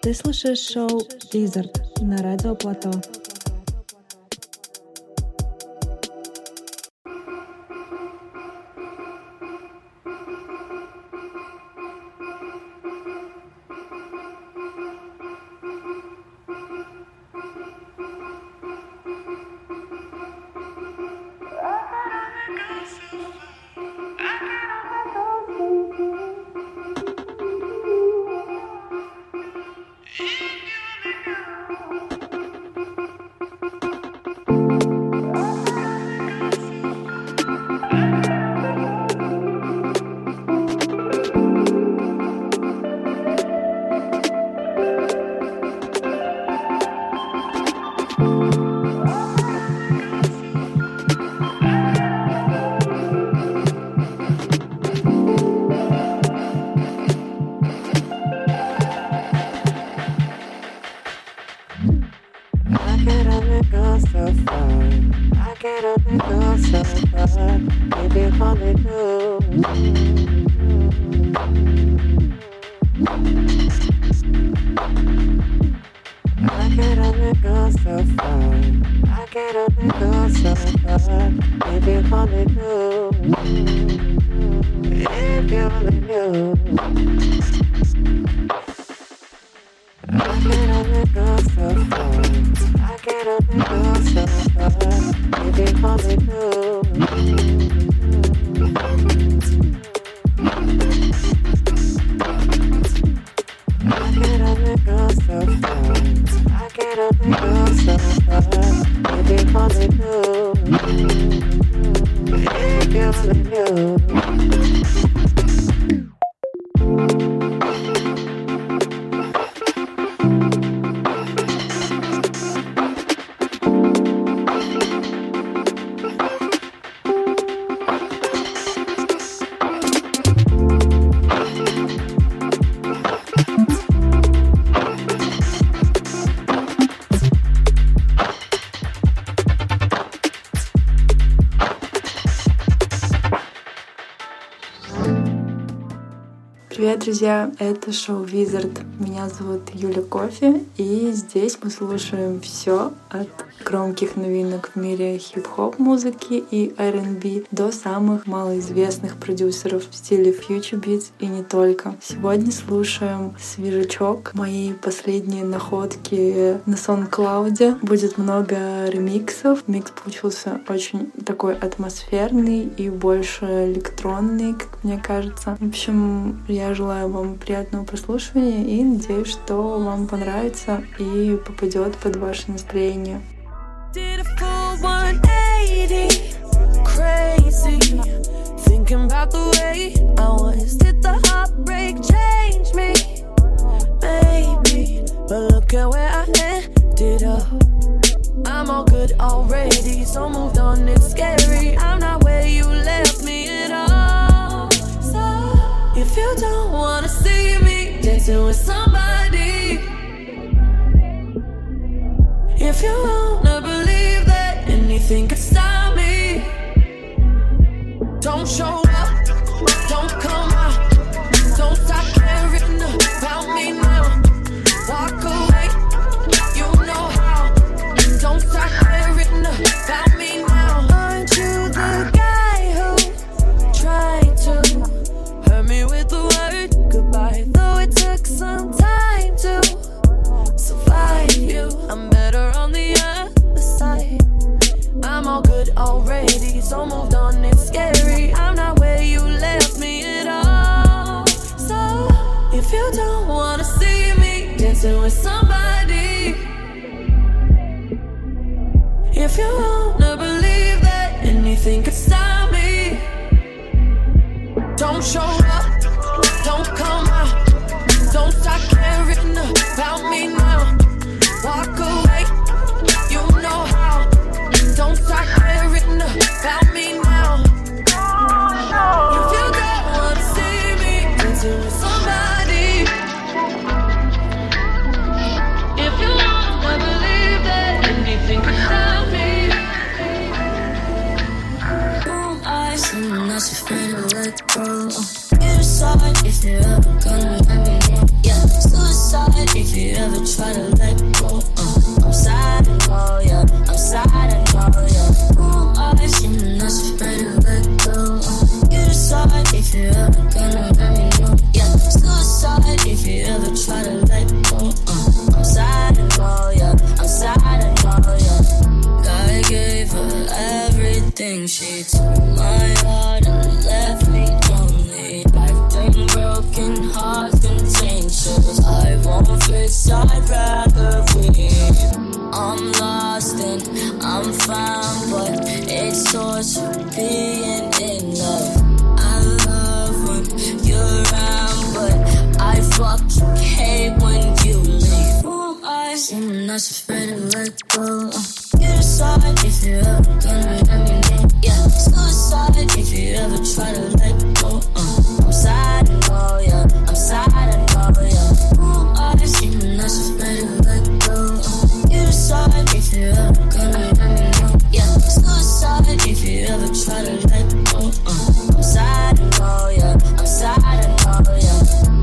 Ты слушаешь шоу Wizard на радио Плато. Привет, друзья! Это шоу Wizard. Меня зовут Юля Кофе, и здесь мы слушаем все от громких новинок в мире хип-хоп музыки и R&B до самых малоизвестных продюсеров в стиле Future Beats и не только. Сегодня слушаем свежачок, мои последние находки на SoundCloud. Будет много ремиксов. Микс получился очень такой атмосферный и больше электронный, как мне кажется. В общем, я желаю вам приятного прослушивания и надеюсь, что вам понравится и попадет под ваше настроение. Did a full 180, crazy, thinking about the way I was. Did the heartbreak change me? Maybe, but look at where I ended up. I'm all good already, so moved on, it's scary. I'm not where you left me at all. So, if you don't wanna see me dancing with somebody, if you wanna believe that anything could stop me, don't show up, don't come out, don't stop caring about me now. Walk away, you know how, don't stop caring about me now. Aren't you the guy who tried to hurt me with the word goodbye? Though it took some time to survive you, I'm better on the other side. I'm all good already, so moved on, it's scary. I'm not where you left me at all. So, if you don't wanna see me dancing with somebody, if you wanna believe that anything could stop me, don't show up, don't come out, don't stop caring about me now. Walk away, you know how, don't stop caring about me now. If you don't wanna see me dancing with somebody, if you wanna believe that anything could stop me. Blue eyes and now she finna let go. try to let go. I'm sad and all, yeah. I'm sad and all, yeah. I seem not afraid to let go. You decide if you ever gonna let me know. Yeah, suicide if you ever try to let go. I'm sad and all, yeah. I'm sad and all, yeah. I gave her everything. She took my heart and left me lonely. I've been broken, hearts contentious. I won't fix, I'd rather win. I'm lost and I'm found, but it's torture being in love. I love when you're around, but I fucking hate when you leave. I seem not afraid to let go. You decide if you ever gonna let me know. Yeah, suicide if you ever try to let go. I'm sad and all, yeah. I'm sad and all, yeah. I seem not afraid to let go. You decide if you ever gonna let me know. Yeah, suicide if you ever try to let go. I'm sad and all, yeah. I'm sad and all, yeah.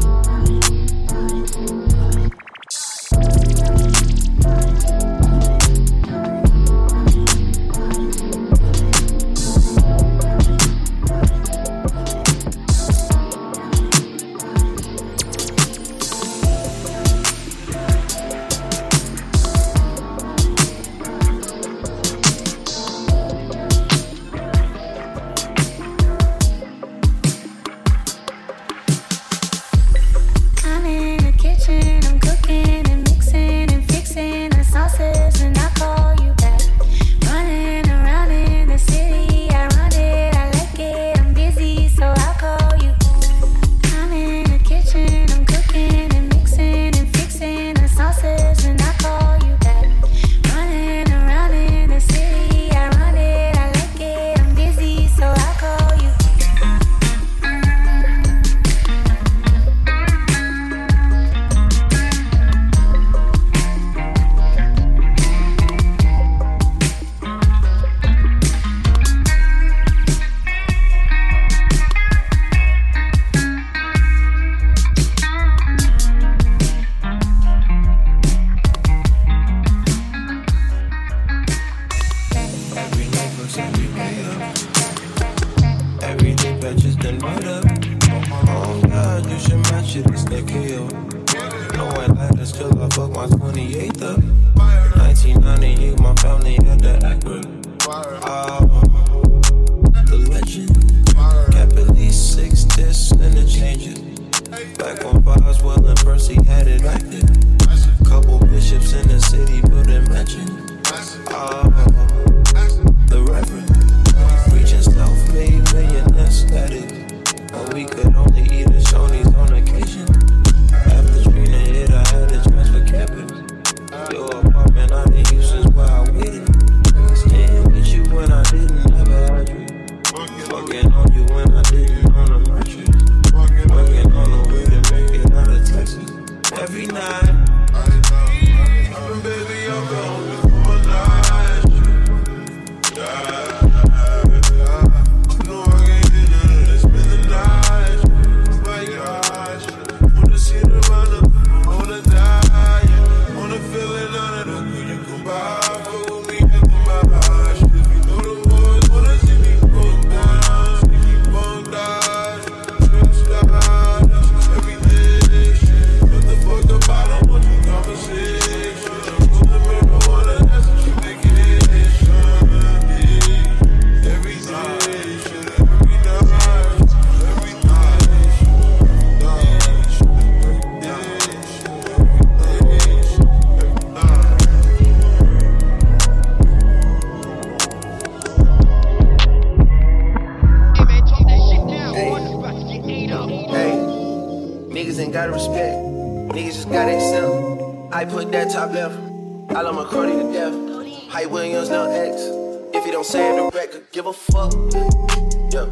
I put that top left. I love McCarty to death. Hype Williams, no X. If you don't say it direct, could give a fuck. Yeah,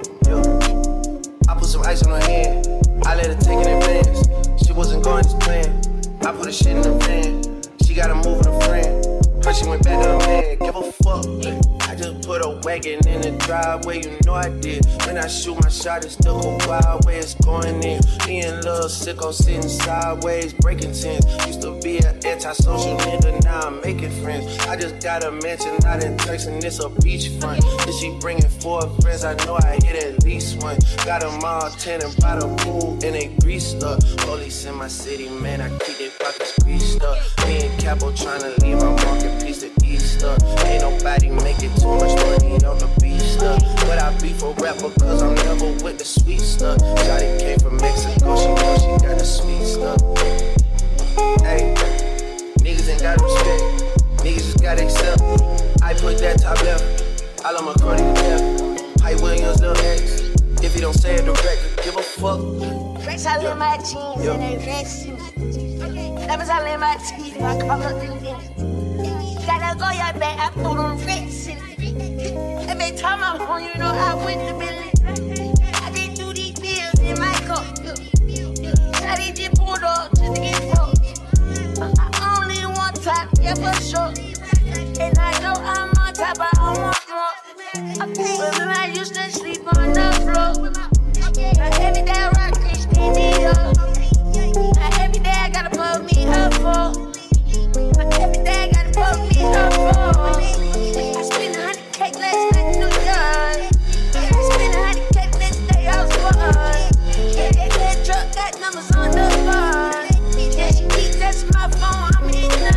yeah. I put some ice on her hand. I let her take it in advance. She wasn't going as planned. I put her shit in the van. She got to move with a friend. But she went back to her man. Give a fuck. I just put a wagon in the driveway. You know I did. When I shoot my shot, it's still go wild where it's going in. Me and Lil little sicko sitting sideways, breaking tents. Used to be an antisocial nigga, now I'm making friends. I just got a mansion out in Turks and it's a beachfront. If she bringing 4 friends, I know I hit at least one. Got them all tanning by the pool and they greased up. Police in my city, man, I keep their pockets greased up. Me and Capo tryna leave my market piece to Easter. Ain't nobody making too much money on the beach stuff. But I be for rapper cause I'm never with the sweet stuff. Shawty came from Mexico, she know she got the sweet stuff. Hey, niggas ain't got respect, niggas just got accept. I put that top left, I love my Cardi to death. Hype Williams, Lil X, if you don't say it direct, give a fuck. Fresh all in my jeans and they fresh. Lemons all in my teeth, I come up in this. Gotta go your back, I threw them fresh. Every time I'm home, you know I went to Billy. I did do these pills in my cup. I did just pulled up just to get fucked. I only one time, yeah for sure. And I know I'm on top, but I want more. Remember I used to sleep on the floor. Now every day I rock this baby up. Now every day I gotta put me up for. Now every day I gotta put me up for. I spent 100K last night in New York. I spent 100K next day I was born. Yeah, that truck got numbers on the board. Yeah, she keeps touching my phone, I'm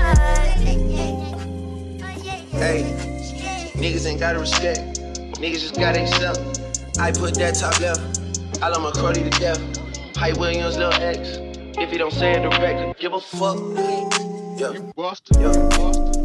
in. Hey, niggas ain't gotta respect, niggas just gotta accept. I put that top left, I love my Cardi to death. Hype Williams, Lil X, if you don't say it direct, give a fuck. Yeah, Boston, yeah, Boston.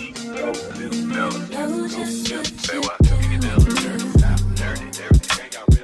Say what? Can you feel it? Dirty, dirty, dirty. Can't y'all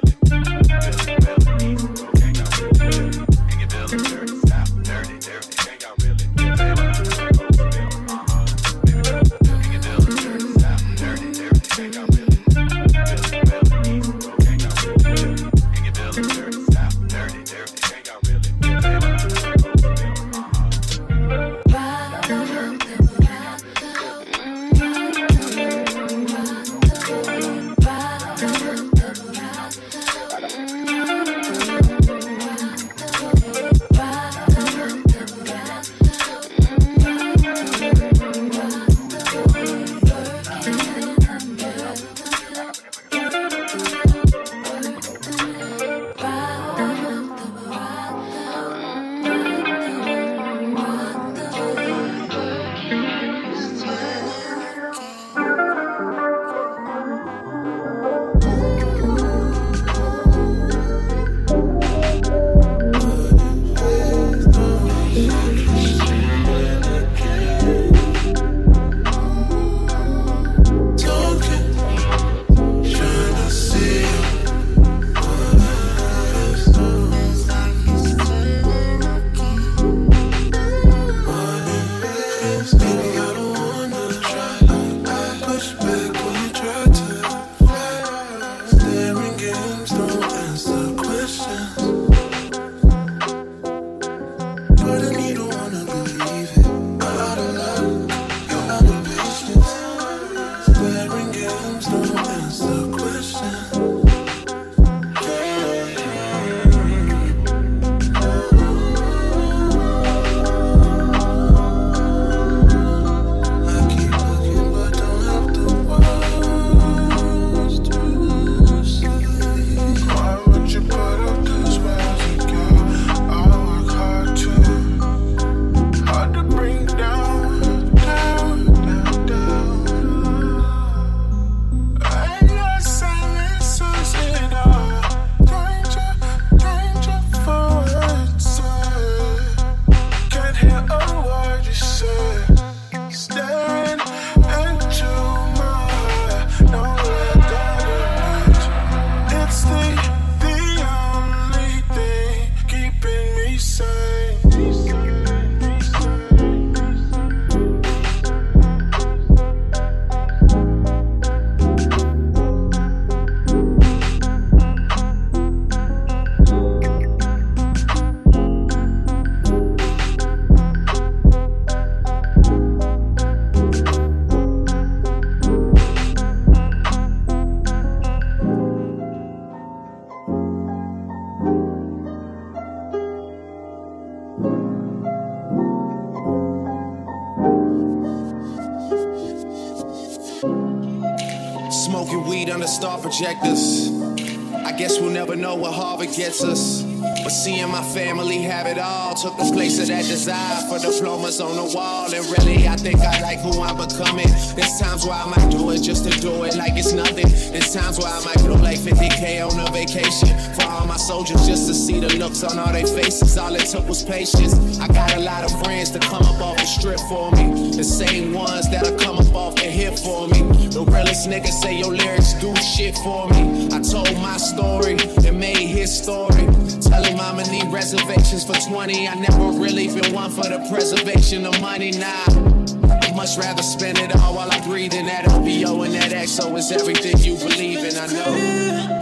Smoking weed under star projectors. I guess we'll never know what Harvard gets us. But seeing my family have it all took the place of that desire for diplomas on the wall. And really, I think I like who I'm becoming. There's times where I might do it just to do it like it's nothing. There's times where I might blow like 50K on a vacation for all my soldiers just to see the looks on all their faces. All it took was patience. I got a lot of friends to come up off the strip for me. The same ones that'll come up off the hip for me. The realest niggas say your lyrics do shit for me. I told my story and made his story. Tell him I'ma need reservations for 20. I never really been one for the preservation of money, nah. I'd much rather spend it all while I'm breathing. That OBO and that XO is everything you believe in, I know.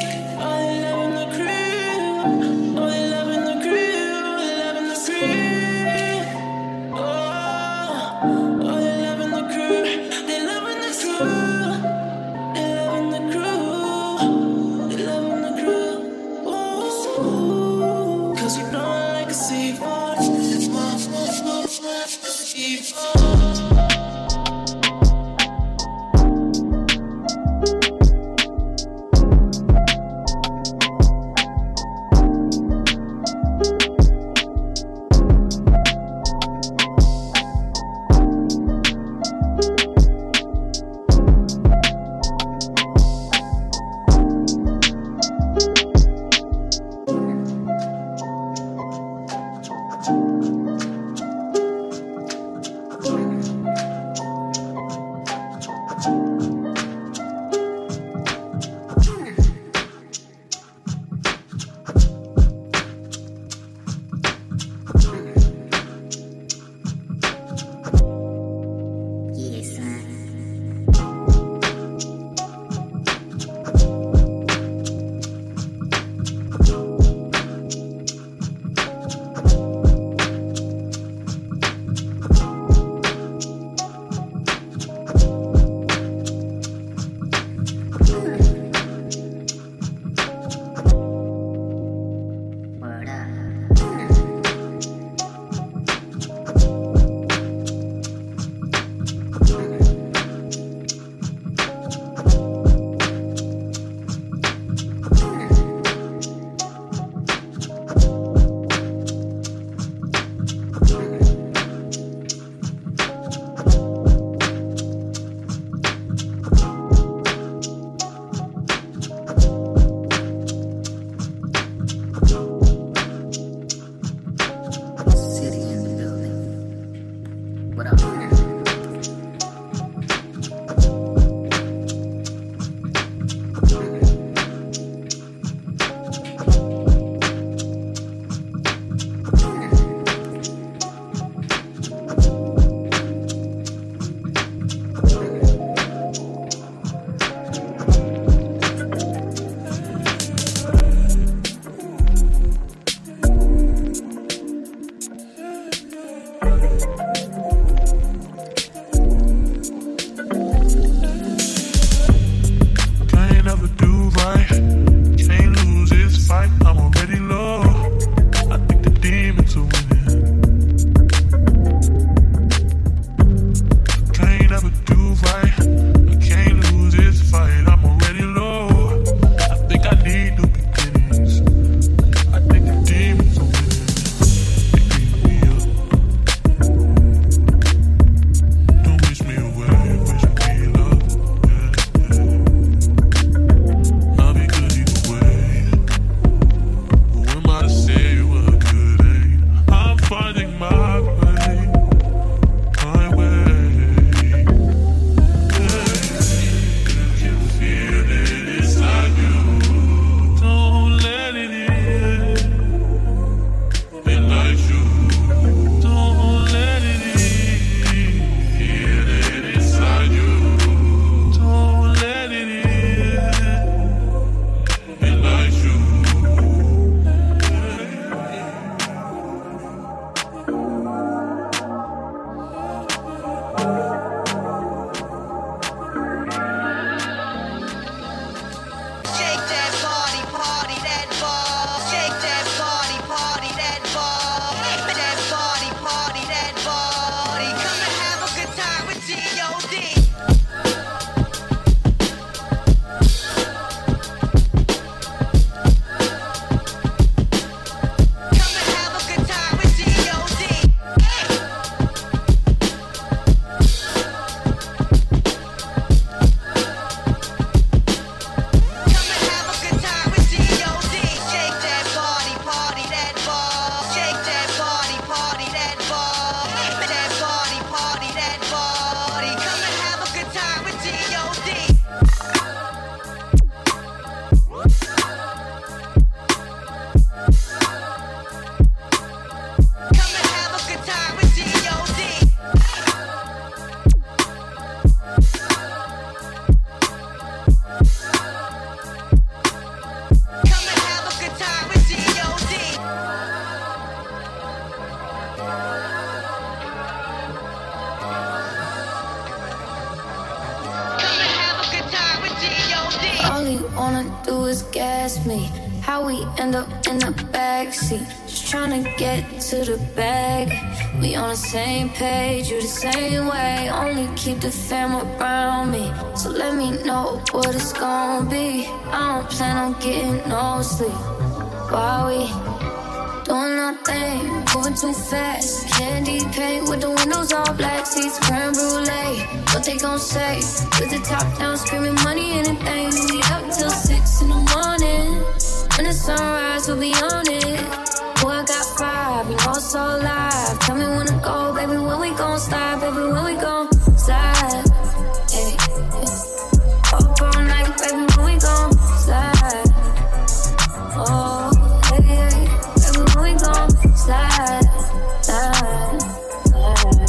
All he wanna do is gas me. How we end up in the backseat, just tryna get to the bag. We on the same page, you the same way. Only keep the fam around me, so let me know what it's gonna be. I don't plan on getting no sleep while we doing our thing, moving too fast. Candy paint with the windows all black, seats creme brulee. What they gon' say? With the top down, screaming money, anything. We up till 6 in the morning. When the sunrise, we'll be on it. Boy, I got 5, you know it's all live. Tell me when to go, baby, when we gon' slide, baby, when we gon' slide. Hey, yeah. Up all night, baby, when we gon' slide. Oh, hey, hey, baby, when we gon' slide, slide, slide,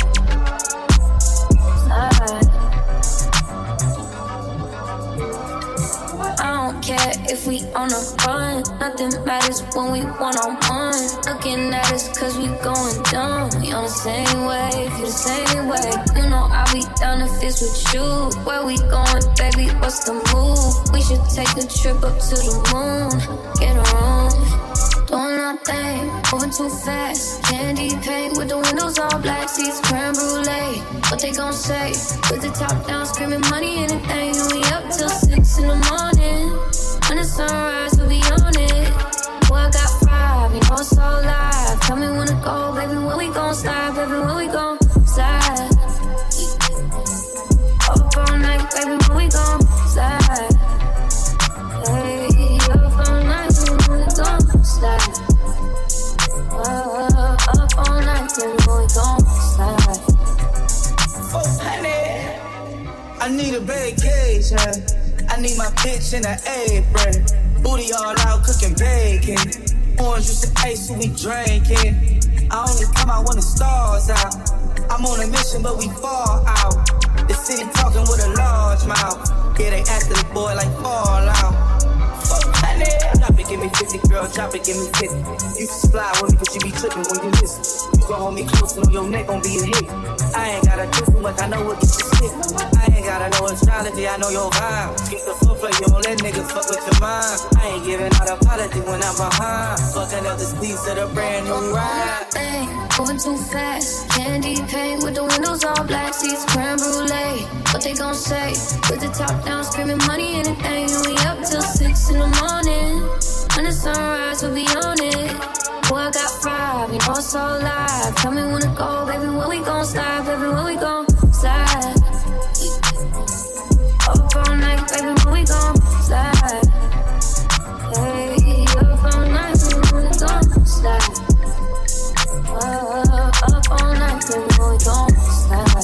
slide. I don't care if we on a run, nothing matters when we one-on-one. Looking at us cause we going dumb. We on the same wave, you the same way. You know I'll be down if it's with you. Where we going, baby, what's the move? We should take a trip up to the moon. Get a room, doing our thing, moving too fast. Candy paint with the windows all black, seats creme brulee. What they gon' say? With the top down, screaming money, anything. And we up till 6 in the morning. When the sunrise, we'll be on it. Boy, I got 5, you know it's all live. Tell me when to go, baby, when we gon' slide, baby, when we gon' slide. Up all night, baby, when we gon' slide. Hey, up all night, baby, when we gon' slide. Up all night, baby, when we gon' slide. Oh, honey, I need a vacation. I need my bitch in an apron. Booty all out, cooking bacon. Orange juice and ice, so we drinking. I only come out when the stars out. I'm on a mission, but we fall out. The city talking with a large mouth. Yeah, they after the boy like Fallout. Fuck, honey. Drop it, give me 50, girl, drop it, give me 50. You just fly with me, cause you be tripping when you miss it. You gon' hold me close, and on your neck gon' be a hit. I ain't gotta do too much, I know what gets you sick. I ain't gotta know astrology, I know your vibe. Get the foot play, you don't let niggas fuck with your mind. I ain't giving out apology when I'm behind. Fucking up this piece of the brand new ride. Hey, moving too fast. Candy paint with the windows all black, seats creme brulee. What they gon' say? With the top down, screaming money, anything. And we up till 6 in the morning. When the sunrise, we'll be on it. Boy, I got 5, you know it's all live. Tell me when to go, baby, when we gon' slide, baby, when we gon' slide. Up all night, baby, when we gon' slide. Hey, up all night, baby, when we gon' slide. Up all night, baby, when we gon' slide.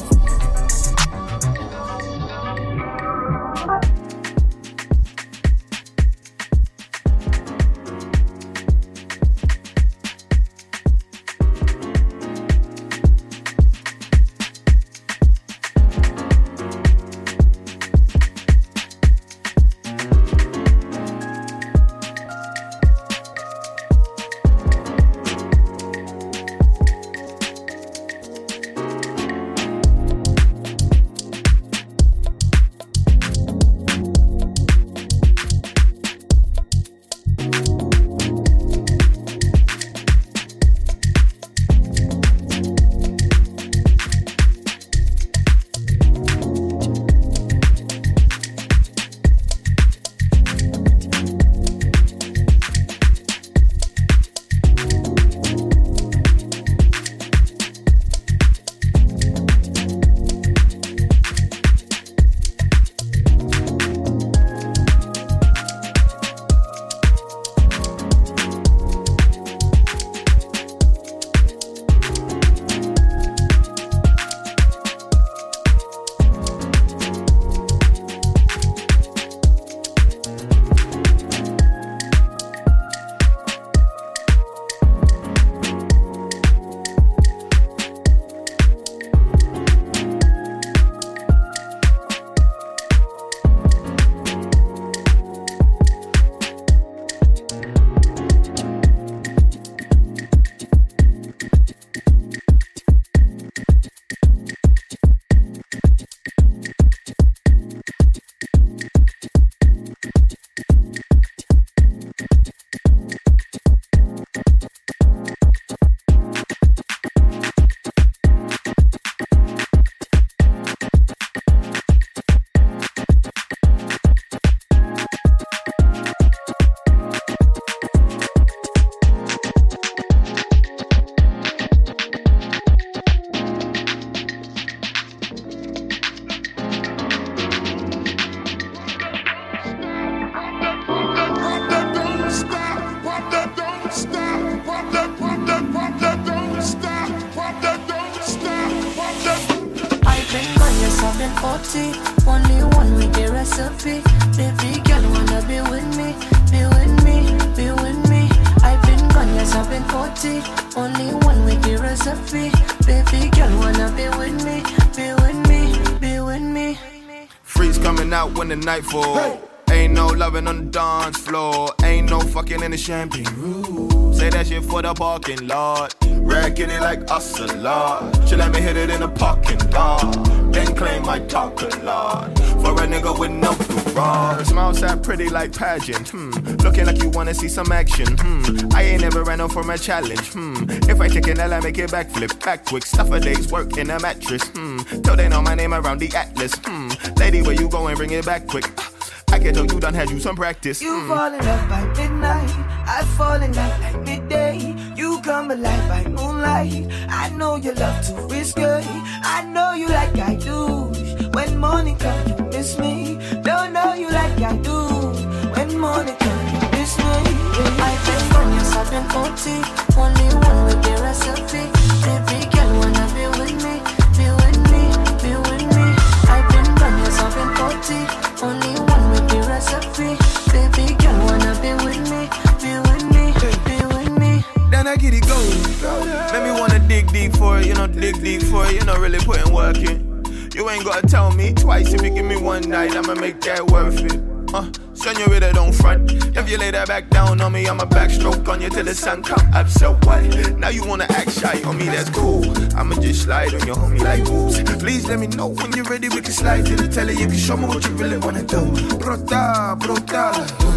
40. Only one with the recipe. Baby girl wanna be with me, be with me, be with me. I've been gone, yes I've been 40. Only one with the recipe. Baby girl wanna be with me, be with me, be with me. Freaks coming out when the night falls. Hey. Ain't no loving on the dance floor. Ain't no fucking in the champagne room. Say that shit for the parking lot. Racking it like us a lot. She let me hit it in the parking lot. Then claim I talk a lot. For a nigga with no garage. Smile sat pretty like pageant. Looking like you wanna see some action. I ain't never ran off from a challenge. If I take an L, I make it backflip. Back quick, stuff a day's work in a mattress. Till they know my name around the atlas. Lady, where you going? Bring it back quick. I can tell you done had you some practice. You fall in love by midnight, I fall in love like midday. You come alive by moonlight. I know you love to risk it. I know you like I do. When morning comes, you miss me. Don't know you like I do. When morning comes, you miss me. I've been gone, yes I've been 40. Only one with the recipe. Baby girl wanna be with me, be with me, be with me. I've been gone, yes I've been 40. Only one with the recipe. Baby girl wanna be with me, be with me, be with me. Then I get it going. Make me wanna dig deep for it, you know, dig deep for it. You know, really putting work in. You ain't gotta tell me twice. If you give me one night, I'ma make that worth it. Senorita, don't front. If you lay that back down on me, I'ma backstroke on you till the sun come up. So what? Now you wanna act shy on me, that's cool. I'ma just slide on your homie like oops. Please let me know when you're ready, we can slide to the telly. You can show me what you really wanna do. Brota, brota,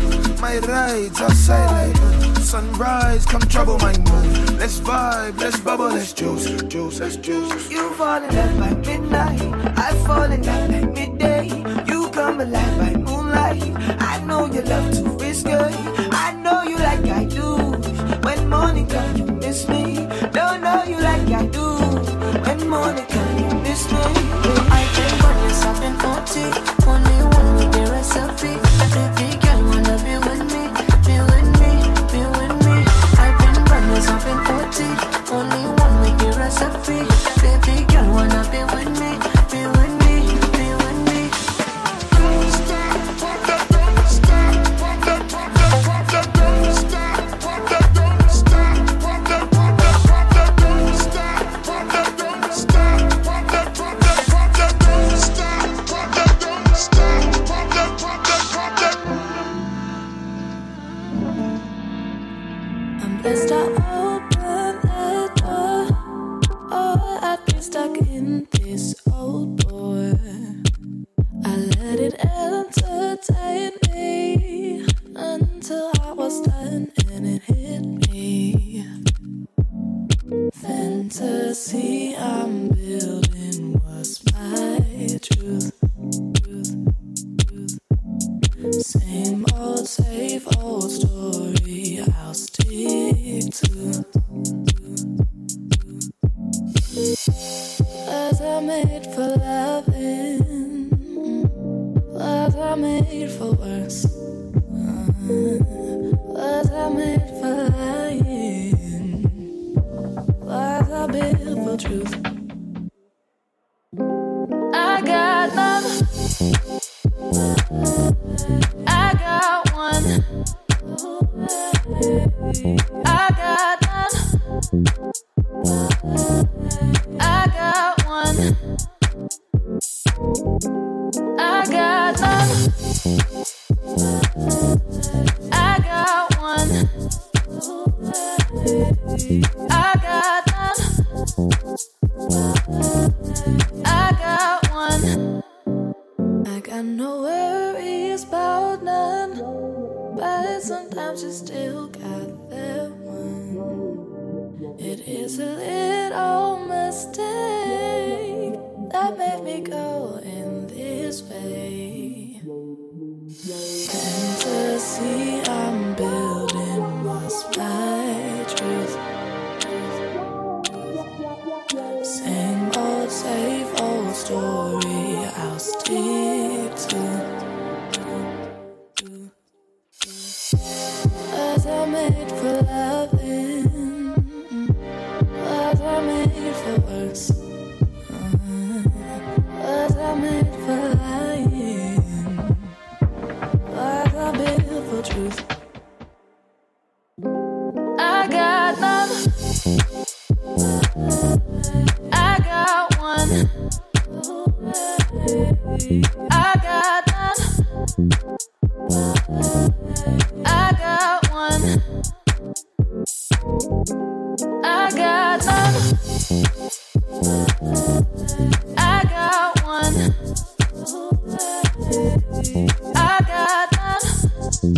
my rides outside like sunrise, come trouble my mood. Let's vibe, let's bubble, let's juice, juice, let's juice. You fall in love by midnight, I fall in love like midday. You come alive by moonlight. I know you love to risk it. I know you like I do. When morning comes, you miss me. Don't know you like I do. When morning comes, you miss me. I've been gone, yes I've been 40. Only one with the recipe. Baby girl wanna be with me, be with me, be with me. I've been gone, yes I've been 40. Only one with the recipe. Baby girl wanna be with me, be with me, be with me. Blessed I open that door. Oh, I'd be stuck in this old door. I let it entertain me until I was done and it hit me. Fantasy I'm building was my truth. Same old, safe old story I'll stick to. Was I made for loving? Was I made for worse? Was I made for lying? Was I built for truth? I got none. I got one. I got none. I got one. I got none. I got one. I got none. I got one. I got no worries about none, but sometimes you still got that one. It is a little mistake that made me go in this way. Fantasy I'm building was my truth. Same old, safe old story I'll stick to. Was I made for loving? Was I made for worse? Was I made for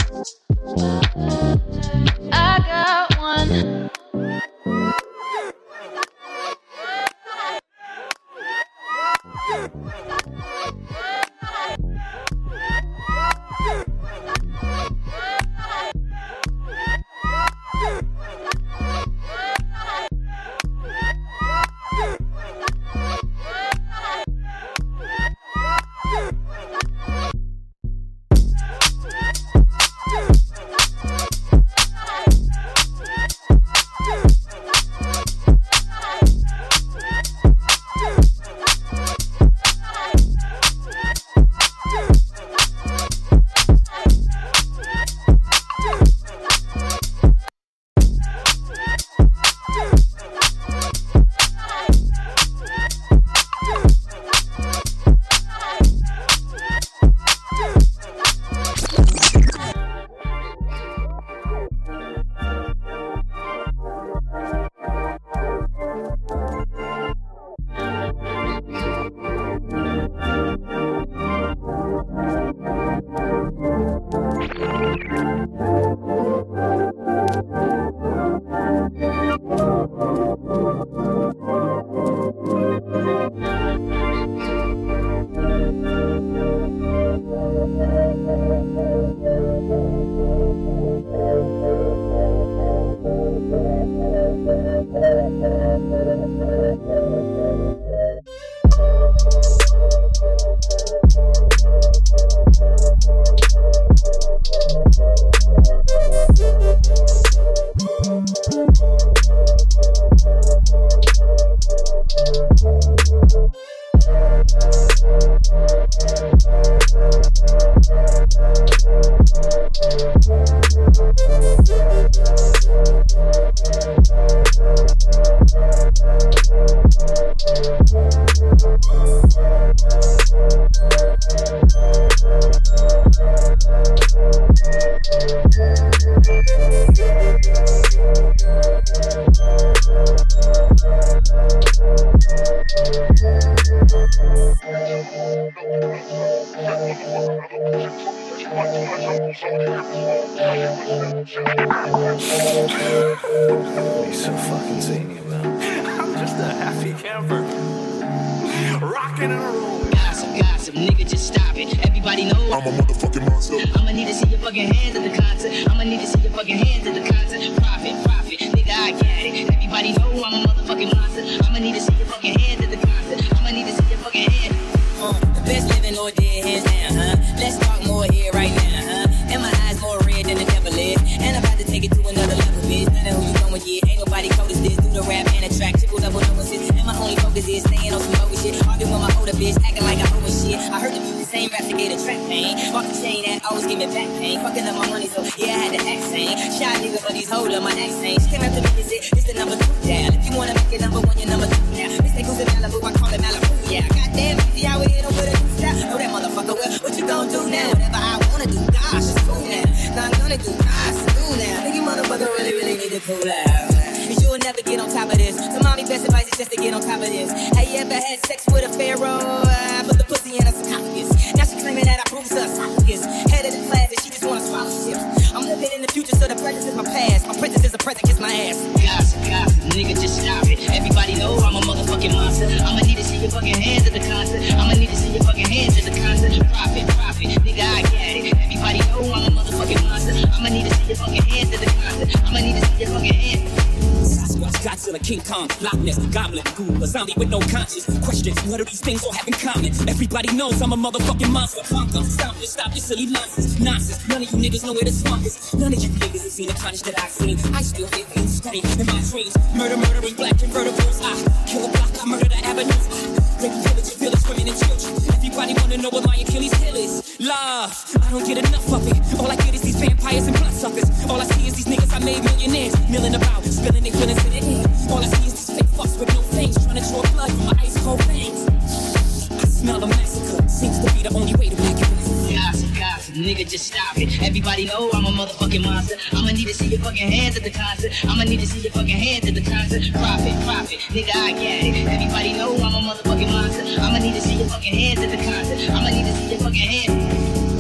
Everybody knows I'm a motherfucking monster. Stop your silly nonsense. None of you niggas know where the swamp is. None of you niggas have seen the carnage that I've seen. I still hit you steady in my dreams. Murdering black convertibles. I kill a block, I murder the avenues. Rape village and village, women and children. Everybody wanna know what my Achilles heel is. Love, I don't get enough of it. All I get is these vampires and bloodsuckers. All I see is these niggas I made millionaires. Milling about, spilling their feelings in their head. All I see is these fake fucks with no fangs. Trying to draw blood from my ice cold veins. Smell a massacre seems to be the only way to make it. Gossip, nigga, just stop it. Everybody know I'm a motherfucking monster. I'ma need to see your fucking hands at the concert. I'ma need to see your fucking hands at the concert. Profit, nigga, I get it. Everybody know I'm a motherfucking monster. I'ma need to see your fucking hands at the concert. I'ma need to see your fucking hands.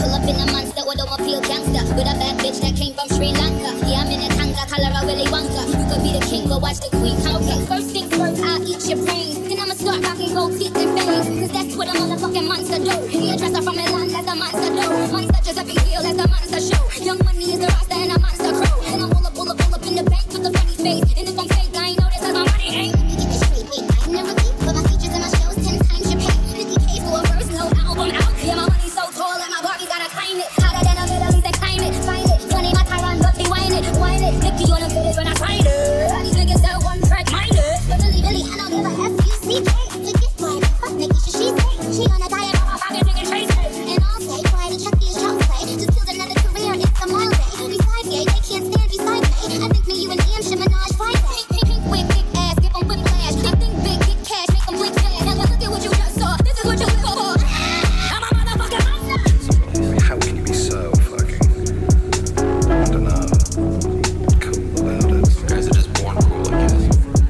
Pull up in a monster, automobile gangster. With a bad bitch that came from Sri Lanka. Yeah, I'm in a tanga, color of Willy Wonka. You could be the king, go watch the queen. Okay, first things first, I'll eat your brains. Then I'ma start rocking gold teeth and fangs. Cause that's what a motherfucking monster do. He a dresser from Milan, that's a monster do. Monster just a big deal, that's a monster show. Young money is the roster and a monster crow. And I'm pull up in the bank with a funny face. And if I'm fake, I ain't know this cause my money ain't. Let me get this straight, wait, I never keep. But my features and my shows 10 times your pay. 50K for a first no album out. Yeah, my money's so tall that my Barbie gotta climb it. Hotter than a Middle East and climb it. Find it, funny my Tyron, but they whine it. Whine it, Nicky on the village when I find it. All these niggas that one track minded. But really, I don't give a F-U-C-K. Forget my fuck Nikki, she say. She on a diet, but my pocket nigga chase it. And I'll say, Friday, Chucky is child's play. Just killed another career, it's a mile day. Besides gay, they can't stand beside me. I think me, you and him should menage Friday. Pink whip, big ass, give them whiplash. I think big, get cash, make them blink fast. Now look at what you just saw, this is what you live for. I'm a motherfucking monster. How can you be so fucking, I don't know, cool about it? You guys are just born cool, I guess.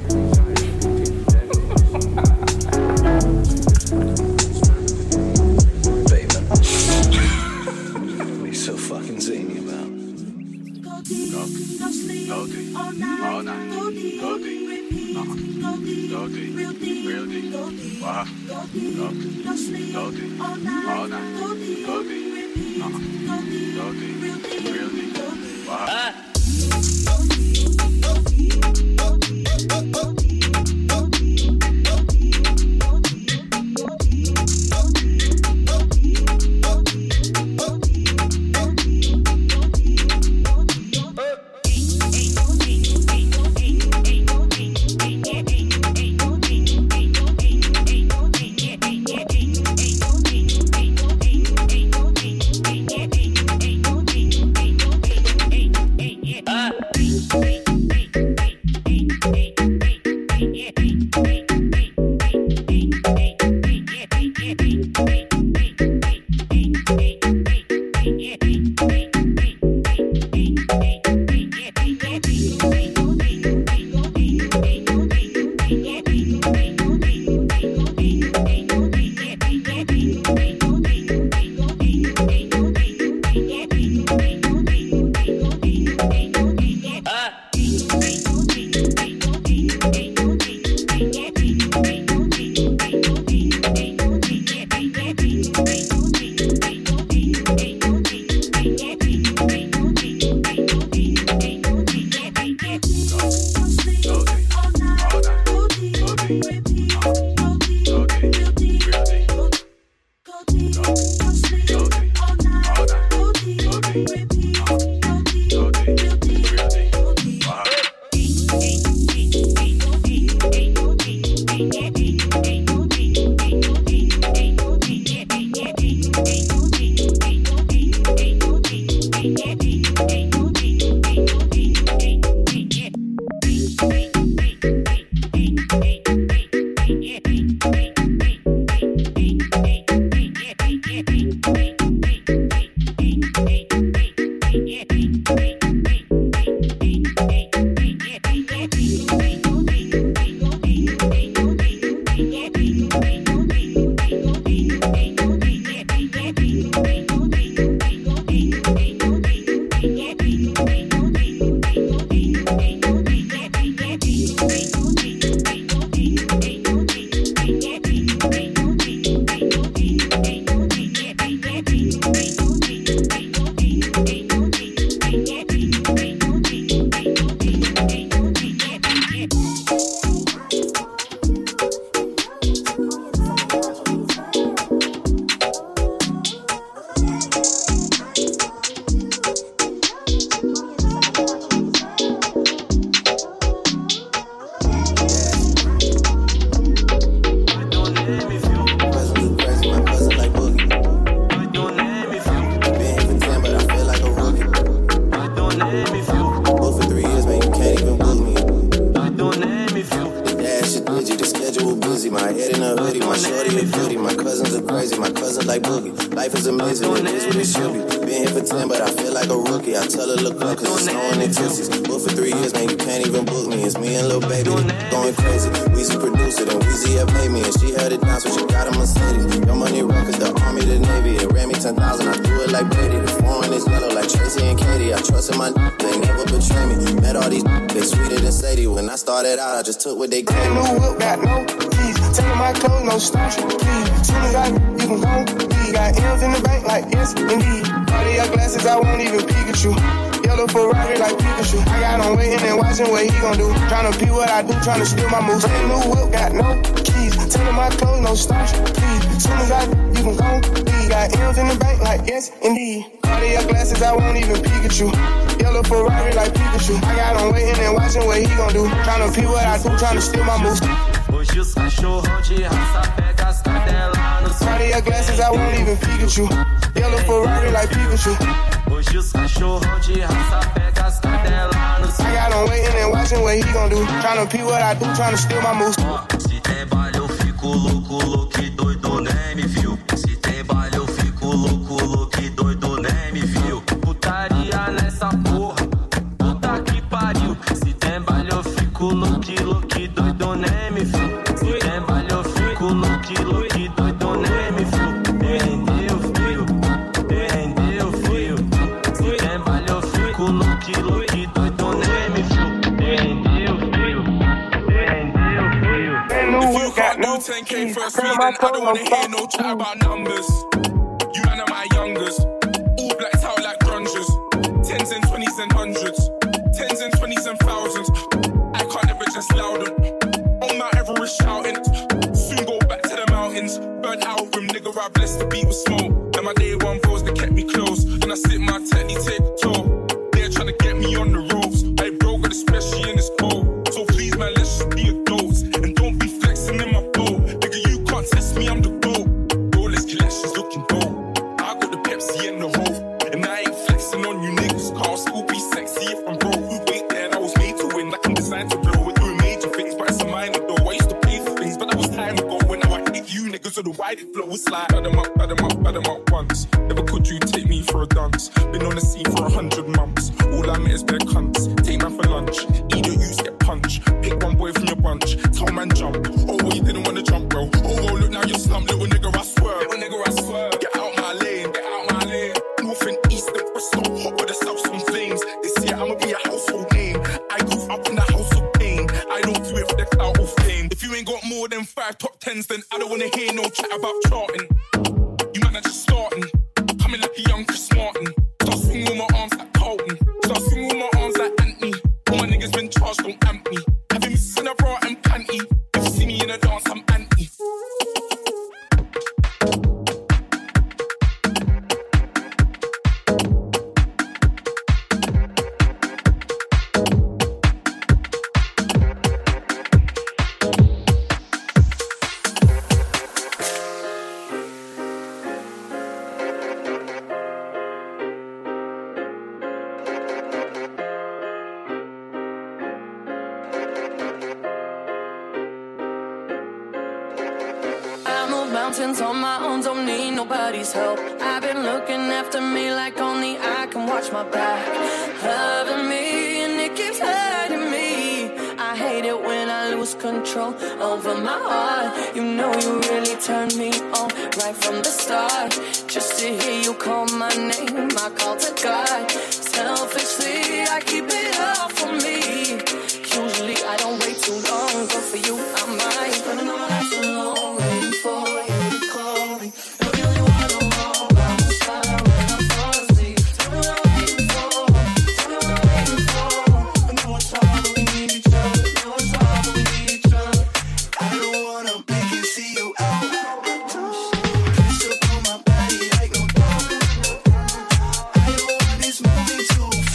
Bateman. What are you so fucking zany about? Go deep, all night, go deep, real deep, wow. No sleep, all night, go deep, real deep, wow. like Boogie. Life is amazing, it is what it should be. Been here for 10, but I feel like a rookie. I tell her, look up, cause it's snowing in Tootsies. But for 3 years, man, you can't even book me. It's me and Lil Baby going crazy. Weezy produced it, and Weezy had paid me. And she held it down, so she got a Mercedes. Your money run, cause the Army, the Navy. It ran me 10,000, I threw it like Brady. The foreign is yellow like Tracy and Katie. I trusted my they never betray me. Met all these they sweeter than Sadie. When I started out, I just took what they gave me. New whip, got no keys. Tell me my clothes, no starch, please. Soon as I you can go, we got M's in the bank like yes, indeed. All of your glasses, I won't even peek at you. Yellow Ferrari like Pikachu. I got on waiting and watching what he gon' do. Tryna be what I do, tryna steal my moves. Brand new whip, got no keys. Tell me my clothes, no starch, please. Soon as I you can go, we got M's in the bank like yes, indeed. All of your glasses, I won't even peek at you. Yellow Ferrari like Pikachu. I got on waiting and watching what he gon' do. Tryna be what I do, tryna steal my moves. Hoje os cachorrão de raça pega as cadelas no All of your glasses, I won't even peek at you. Yellow Ferrari like Pikachu. Hoje os cachorrão de raça pega as cadelas no I got on waiting and watching what he gon' do. Tryna be what I do, tryna steal my moves. Se tem baile eu fico louco, louco e doido, nem me viu. Se tem baile eu fico louco, louco e doido, nem me viu. Putaria nessa porra, puta que pariu. Se tem baile eu fico louco e doido, nem me viu. Se tem baile eu fico louco e doido, nem me viu. Rendeu, fio, rendeu, fio. Se tem baile eu fico louco e doido, nem me viu. Rendeu, fio, rendeu, fio. If you got no 10K for a fee, then I don't wanna hear no chat about numbers. You man are my youngers, all blacked out like grungers. 10s and 20s and 100s, 10s and 20s and thousands. I can't ever just loud them. On Mount Everest shouting, soon go back to the mountains. Burnt out room, nigga, I blessed the beat with smoke. And my day one bros that kept me close. When I sit my technique, take a toll. They're trying to get me on the ropes. Hey bro, got especially in this cold. So please man, let's just be adults. And don't be flexing in my boat. Nigga, you can't test me, I'm the GOAT. Rolex collections looking dope. I got the Pepsi and the Hope. And I ain't flexing on you niggas. Cause I'll still be sexy if I'm broke. Wait there, I was made to win. Like I'm designed to blow. We're doing major things, but it's a minor though. I used to pay for things, but that was time ago. When now I hit you niggas with the wide flow. It's like bad them up once. Never could you take me for a dance. Been on the scene for 100 months. All I met is bare cunts. Take man for lunch. Eat or use, get punched. Pick one boy from your bunch. Tell man jump. Oh, well, you didn't want to jump, bro. Oh, well, look now you're slumped. Little nigga, I swear. Little nigga, I swear. Get out my lane. Get out my lane. North and east and Bristol. Hot with the south, some flames. This year I'ma be a household name. I grew up in the house of pain. I don't do it for the clout of fame. If you ain't got more than 5 top 10s, then I don't wanna hear no chat about charting. You man are just starting. Coming like a young Chris Martin. Start swinging with my arms like Carlton. Start swinging with my arms like Anthony. All my niggas been charged, don't amp me. Having me in a bra and panty. If you see me in a dance, I'm anti. Mountains on my own, don't need nobody's help. I've been looking after me like only I can watch my back. Loving me and it keeps hurting me. I hate it when I lose control over my heart. You know you really turned me on right from the start. Just to hear you call my name, I call to God. Selfishly, I keep it all for me. Usually I don't wait too long, but for you I might. But I know that's so long, waiting for you. Too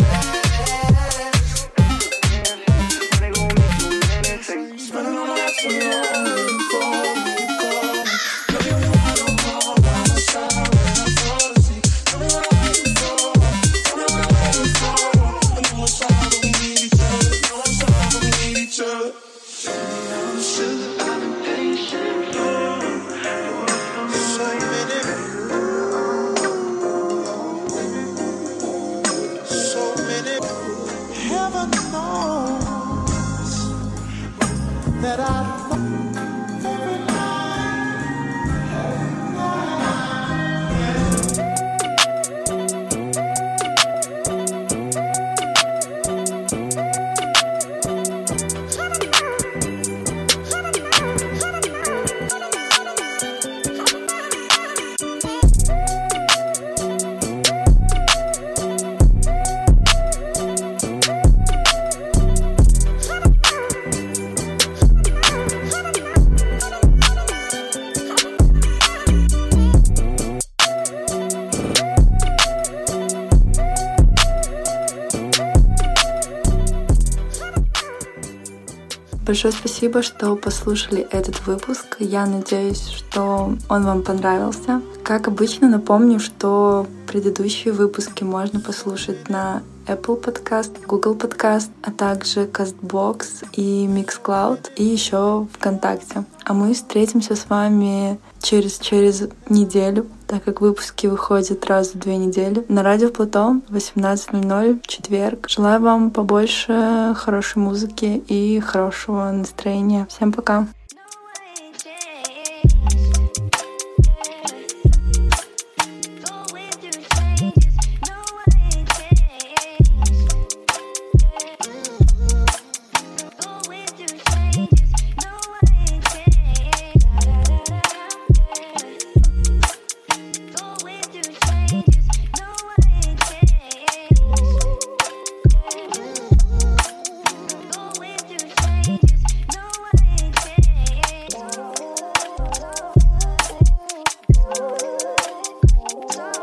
Большое спасибо, что послушали этот выпуск. Я надеюсь, что он вам понравился. Как обычно, напомню, что предыдущие выпуски можно послушать на Apple Podcast, Google Podcast, а также CastBox и Mixcloud, и еще ВКонтакте. А мы встретимся с вами через неделю, так как выпуски выходят раз в 2 недели, на Радио Платон в 18:00 в четверг. Желаю вам побольше хорошей музыки и хорошего настроения. Всем пока!